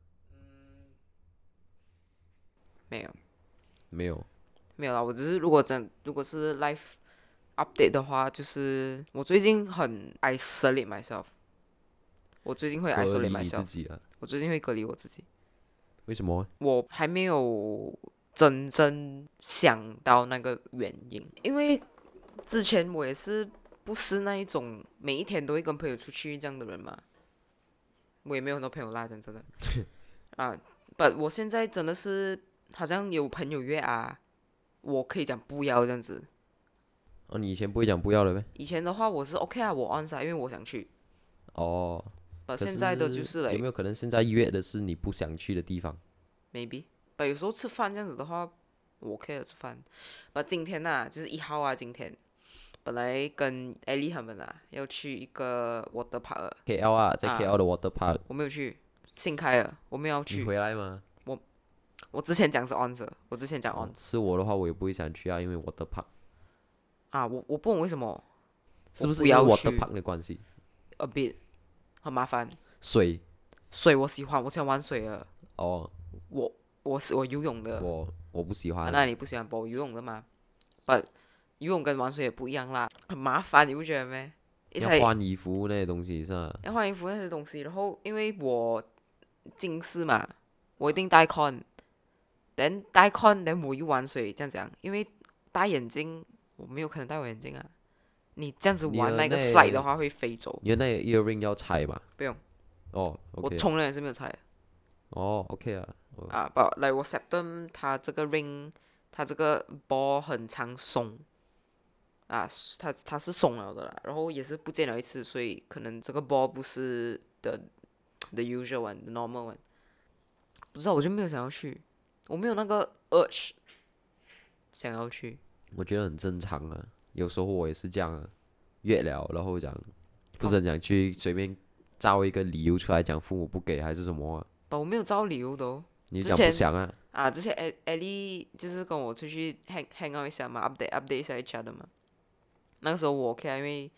没有没有。 没有啦，我只是如果真如果是 life update 的话，就是我最近很 isolate myself，我最近会隔 isolate 离你 myself， 自己啊？ 我最近会隔离我自己， 为什么？ 我还没有真正想到那个原因，因为之前我也是不是那一种每一天都会跟朋友出去这样的人嘛，我也没有很多朋友啦，讲真的啊，不，我现在真的是好像有朋友约啊，我可以讲不要这样子。 哦，你以前不会讲不要了呗？ 以前的话我是 OK 啊，我 on 噻，因为我想去。 哦， 把可现在的就是来有没有可能现在约的是你不想去的地方？ maybe，把有时候吃饭这样子的话，我 OK 的吃饭。把今天呐、啊，就是一号啊，今天本来跟艾丽他们啊要去一个 water park， K L 啊，在啊 K L 的 water park，、 我没有去，新开了，我没有要你去。 回来吗？ 我之前讲是 on 的，我之前讲 on 哦，是我的话，我也不会想去啊，因为 water park 啊，我我不懂为什么是不是因为我不要 water 去 park 的关系？ a bit 很麻烦。 水水我喜欢，我喜欢玩水的， 哦， 我我是我游泳的。 我我不喜啊， 欢。 那你不喜欢不游泳的吗？不，游泳跟玩水也不一样啦，很麻烦，你不觉得咩？一要才换衣服那些东西是吧？ 要换衣服那些东西，然后因为我近视嘛，我一定戴 con，等戴 con，等我又玩水这样讲，因为戴眼镜我没有可能戴我眼镜啊。你这样子你玩那个的那 slide 的话会飞走， 你的那个 earring 要拆吧？ 不用， 哦我 ，OK， 从来也是没有拆的哦，OK 啊，哦啊。不，来我 septum 它这个 ring，它这个 ball 很常松。啊，它它是松了的啦，然后也是不见了一次，所以可能这个 ball 不是 the the usual one，the normal one，不知道我就没有想要去，我没有那个 urge 想要去。 我觉得很正常啊。有时候我也是这样啊，约了，然后讲不是很想去，随便造一个理由出来讲父母不给还是什么啊、 但我没有找理由的哦。 你讲不之前想啊？ 啊，之前艾艾丽就是跟我出去 hang hang out 一下嘛，update update 一下 each other 嘛。那个时候我 OK 啊，因为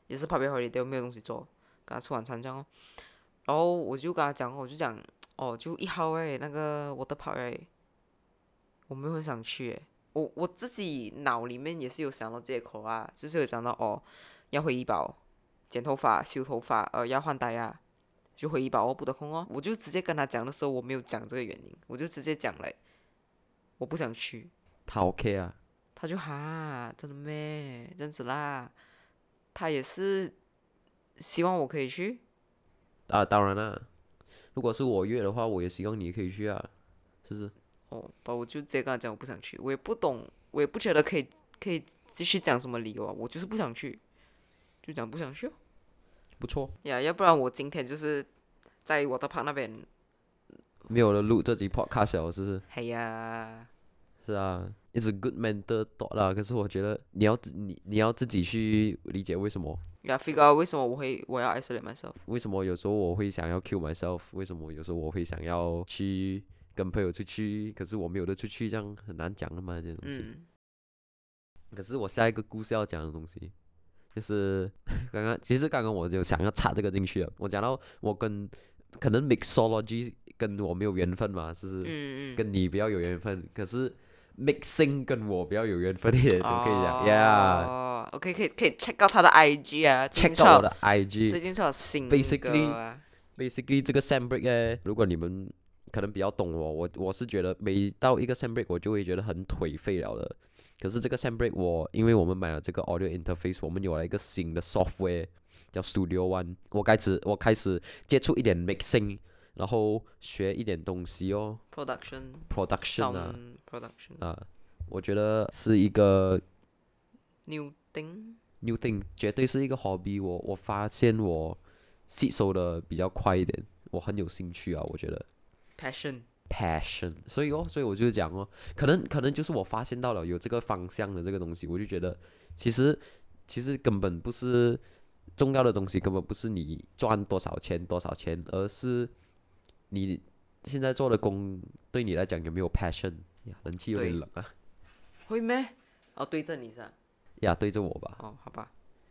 也是 public holiday 没有东西做，跟他吃晚餐这样哦。然后我就跟他讲，我就讲哦，就一号诶，那个 water park 诶，我没有很想去诶。我我自己脑里面也是有想到借口啊，就是有想到哦，要回医保、剪头发、修头发，呃，要换戴啊，就回医保哦，不得空哦。我就直接跟他讲的时候，我没有讲这个原因，我就直接讲嘞，我不想去。 他 OK 啊？ 他就哈，真的咩？这样子啦。他也是希望我可以去。 啊，当然啦，如果是我约的话，我也希望你可以去啊，是不是？ 哦，把我就直接跟他讲我不想去，我也不懂，我也不觉得可以可以继续讲什么理由啊，我就是不想去，就讲不想去哦。 不错， 呀，要不然我今天就是在我的旁那边。 没有了录这集 podcast 了，是不是？ 嘿呀， 是啊，it's a good mental thought 啦。可是我觉得你要自你你要自己去理解为什么， 呀，figure out 为什么我会我要 isolate myself。 为什么有时候我会想要 kill myself，为什么有时候我会想要去跟朋友出去，可是我没有得出去，这样很难讲的嘛，这些东西。 嗯， 可是我下一个故事要讲的东西，就是刚刚其实刚刚我就想要插这个进去了。我讲到我跟可能 mixology 跟我没有缘分嘛，是不是？ 嗯嗯。 跟你比较有缘分，可是 mixing 跟我比较有缘分一点，我可以讲，yeah。 哦，OK，可以可以 check 到他的 I G 啊，最近 check 出了到我的 I G。 最近出了新歌 Basically 啊。 basically 这个 sem break 呢，如果你们可能比较懂我，我我是觉得每到一个 sem break 我就会觉得很颓废了的。可是这个 sem break 我因为我们买了这个 audio interface，我们有了一个新的 software 叫 Studio One，我开始我开始接触一点 mixing，然后学一点东西哦 production ，production 啊 sound production 啊，我觉得是一个 new thing。 new thing，绝对是一个 hobby。我我发现我吸收的比较快一点，我很有兴趣啊，我觉得 passion。 passion，所以哦，所以我就讲哦，可能可能就是我发现到了有这个方向的这个东西，我就觉得其实其实根本不是重要的东西，根本不是你赚多少钱多少钱，而是你现在做的工对你来讲有没有 passion 呀？冷气有点对冷啊， 会咩？哦，对着你是吧？ 呀，对着我吧。 哦，好吧。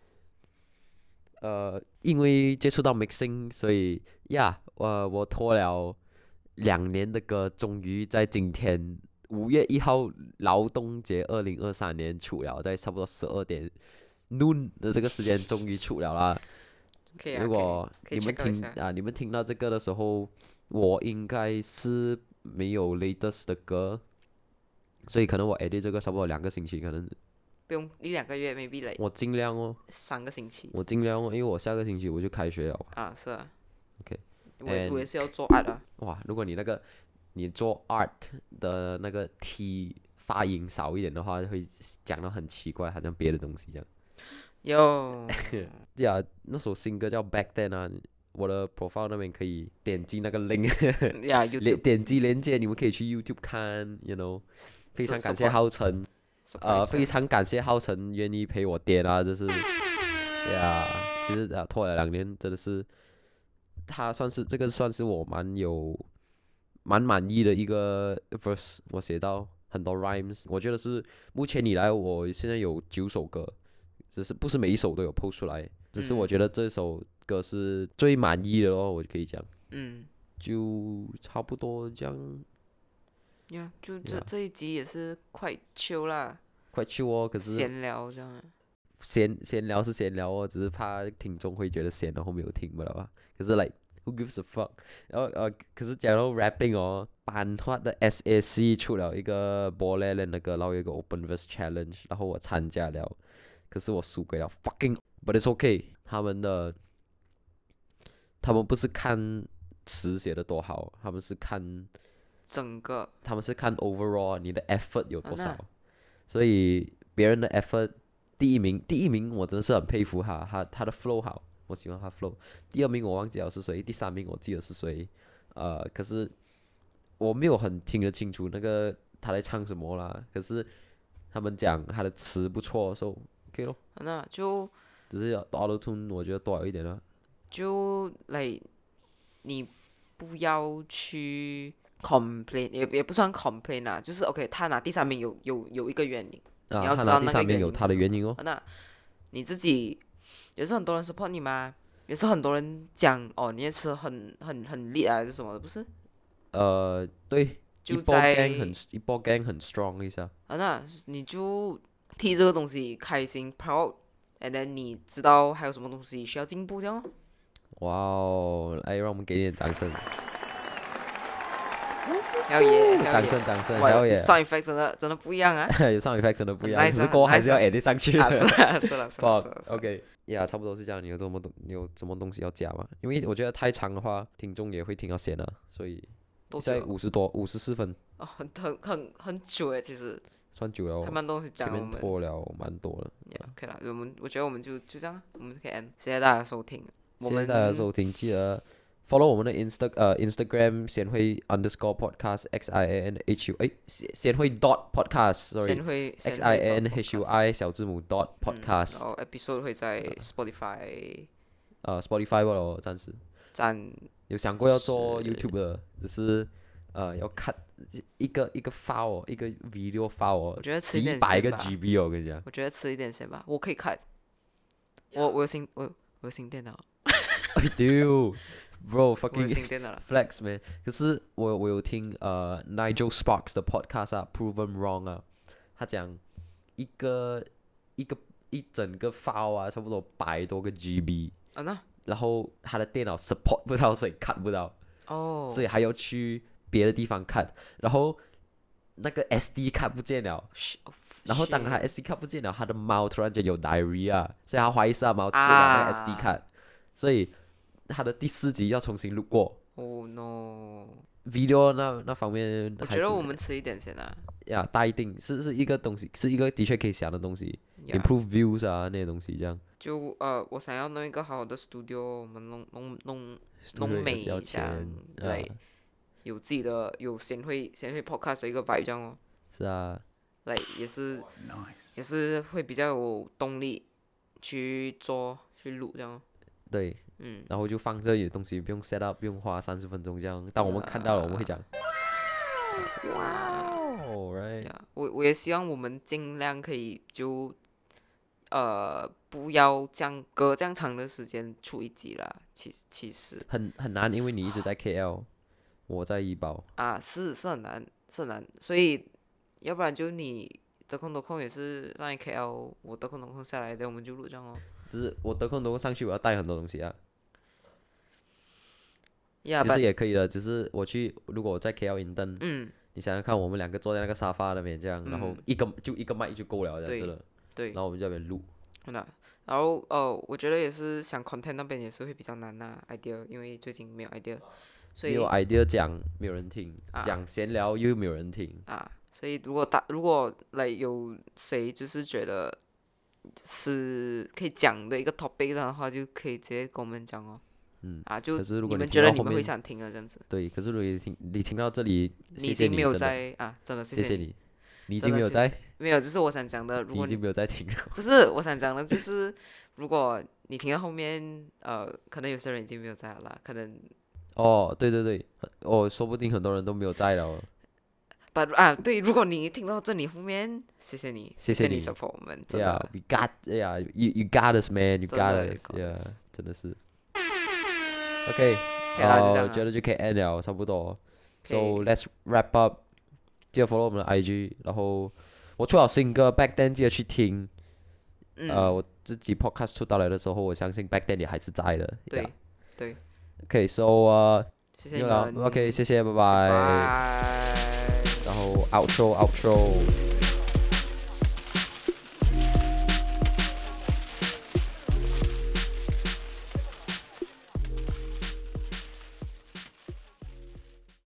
呃，因为接触到 mixing，所以呀，我我拖了两年的歌，终于在今天五月一号劳动节，二零二三年出了，在差不多十二点 noon 的这个时间终于出了啦。 可以啊， 如果可以可以你们 check 到一下。 听啊，你们听到这个的时候，我应该是没有 latest 的歌，所以可能我 edit 这个差不多两个星期，可能不用一两个月 maybe like 我尽量哦， 三个星期我尽量哦，因为我下个星期我就开学了。 啊，是啊。 OK， 我也 and 我也是要做 art 啊。 哇，如果你那个你做 art 的那个 t 发音少一点的话，会讲到很奇怪，好像别的东西这样。 有呀，那首新歌叫 Back Then 啊，我的 profile 那边可以点击那个 link， 呀连 ，YouTube 点击连接，你们可以去 YouTube 看，you know。非常感谢 support 浩辰，呃， surprise 啊。 非常感谢浩辰愿意陪我点啊，这是呀，其实啊拖了两年，真的是他算是这个算是我蛮有蛮满意的一个 verse，我写到很多 rhymes，我觉得是目前以来我现在有九首歌，只是不是每一首都有 post 出来，只是我嗯觉得这首歌是最满意的咯，我就可以讲， 嗯就差不多这样， 呀，就这呀这一集也是快 chill 啦， 快去哦，可是闲聊这样啊。 闲闲聊是闲聊哦，只是怕听众会觉得闲，然后没有听不了啊。可是 like who gives a fuck？然后呃，可是讲到 rapping 哦，版画的 S A C 出了一个 b a l l 的那个，然后有一个 open verse challenge，然后我参加了，可是我输给了 fucking，but it's okay。他们的他们不是看词写的多好，他们是看整个他们是看 overall 你的 effort 有多少， 啊那所以别人的 effort。第一名，第一名我真的是很佩服他，他他的 flow 好，我喜欢他 flow。第二名我忘记了是谁，第三名我记得是谁，呃，可是我没有很听得清楚那个他在唱什么啦。可是他们讲他的词不错，so OK 咯， 啊那就只是要 auto tune 我觉得多少一点啦。 就来你不要去 complain，也也不算 complain 啦，就是 OK，他拿第三名有有有一个原因。你啊， 要知道那个他拿第三名有原因是什么他的原因哦。 那你自己也是很多人 support 你嘛，也是很多人讲哦，你的词很很很厉害还是什么的，不是？ 呃，对，一波就在 gang 很一波 gang 很 strong 一下。 啊，那你就替这个东西开心 proud，and then 你知道还有什么东西需要进步这样哦。 哇哦，来，让我们给点掌声， 好耶， 掌声掌声， 哇好耶！ ，sound effect 真的真的不一样啊。 有 sound effect 真的不一样， 很 nice 可是啊很过后还是要 nice 啊 edit 上去啊，是的。 啊，是了，是了，是了。 OK，呀，差不多是这样。你有什么东，你有什么东西要加吗？因为我觉得太长的话，听众也会听到闲了，所以现在多久了？ 五十多，五十四分， 哦，很很很很久诶，其实算久了哦。 还蛮多东西前讲。我们面拖了蛮多了。 yeah, OK 了，我们我觉得我们就就这样，我们可以 end。谢谢大家收听，我们谢谢大家收听，记得 follow 我们的 Insta 呃 Instagram 贤惠 underscore podcast x i a n h u 哎贤贤惠 dot podcast 先 sorry 会 x i a n h u i 小字母 dot 然 podcast 后 episode 会在 Spotify 呃 Spotify 吧咯，暂时占有想过要做是 YouTube 的，只是呃要看一个一个 file 哦一个 video file 哦我觉得迟一点几百个先吧 G B 哦，我跟你讲。 我觉得迟一点先吧，我可以看。我我有新我有我有新电脑， 哎 dude bro 我有 fucking 新电脑了。 flex man，可是我我有听呃 Nigel Sparks 的 podcast 啊 Proven Wrong 啊，他讲一个一个一整个 file 啊，差不多百多个 G B， 啊那然后他的电脑 support 不到，所以看不到， 哦， 所以还要去别的地方看，然后那个 S D 看不见了。 是哦然后当他 shit S D 卡不见了，他的猫突然间有 diarrhea，所以他怀疑是他猫吃了那个 S D 卡，所以他的第四集要重新录过。 Oh no！ video 那那方面我还是觉得我们迟一点先啊。 呀，大一定是是一个东西，是一个的确可以想的东西 Yeah ，improve views 啊那些东西这样。 就呃，我想要弄一个好的 studio，我们弄弄弄 Studio 弄美也是要一下钱， 来啊有自己的有贤惠贤惠 podcast 的一个 vibe 这样哦， 是啊， 来也是也是会比较有动力去做去录这样哦。 对， 嗯， 然后就放这里的东西，不用 set up，不用花三十分钟这样。当我们看到了，我们会讲，哇，right， 呀，我我也希望我们尽量可以就呃不要这样隔这样长的时间出一集啦。其实其实很很难，因为你一直在 K L，我在怡保， 啊是是很难是很难，所以要不然就你得空得空也是上来 K L，我得空得空下来，等我们就录这样哦。 只是我得空得空上去，我要带很多东西啊。 呀， 其实也可以的，只是我去，如果我在 K L 营登， 嗯你想想看，我们两个坐在那个沙发那边这样，然后嗯一个就一个麦就够了，这样对子了。 对然，后我们在那边录， 那然后呃，我觉得也是想 content 那边也是会比较难呐、idea，因为最近没有 idea，所以没有 idea 讲没有人听， 啊讲闲聊又没有人听。 啊，所以如果大如果来有谁就是觉得是可以讲的一个 topic 的话，就可以直接跟我们讲哦。 嗯， 啊，就可是如果你你们觉得听到后面你们会想听的这样子， 对，可是如果你听你听到这里， 你谢谢你， 已经没有真的， 在啊，真的谢你， 谢谢你，你已真的谢经没有在， 没有，就是我想讲的，如果你你已经没有在听了。 不是我想讲的，就是如果你听到后面，呃，可能有些人已经没有在了啦，可能哦，对对对，哦，说不定很多人都没有在了。 把啊对，如果你听到这里后面，谢谢你， 谢谢你你 support 我们，真 Yeah, 的 we got, yeah, you you got us, man, you 真 got 的 us, you got yeah， us 真的是。OK， 可以啦就这呃， 样啊我觉得就可以 end 了，差不多。 可以 So let's wrap up，记得 follow 我们的 I G，然后我出了新歌，Back Then 记得去听。 嗯， 呃，我自己 podcast 出到来的时候，我相信 Back Then 也还是在的。 对 yeah. 对， OK，so 呃， 谢谢你没有了们 ，OK，谢谢，拜拜。 拜。 然后 outro outro。